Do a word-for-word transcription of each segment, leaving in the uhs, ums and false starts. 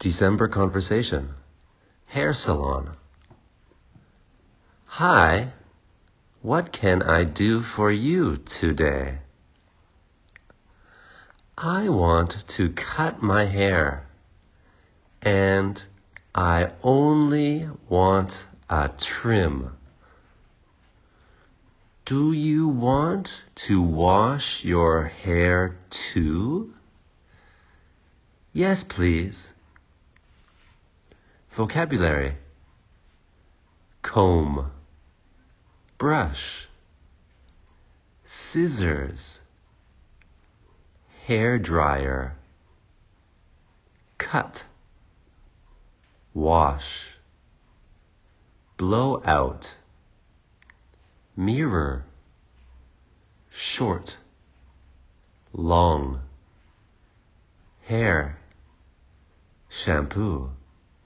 December conversation. Hair salon. Hi, what can I do for you today? I want to cut my hair, and I only want a trim. Do you want to wash your hair too? Yes, please. Vocabulary: comb, brush, scissors, hair dryer, cut, wash, blow out, mirror, short, long, hair, shampoo,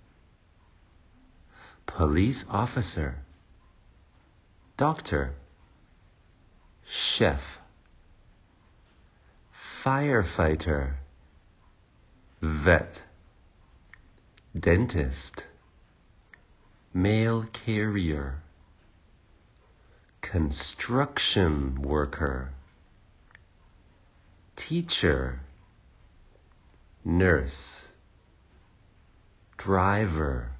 police officer, doctor, chef, firefighter, vet, dentist, mail carrier, construction worker, teacher, nurse, driver,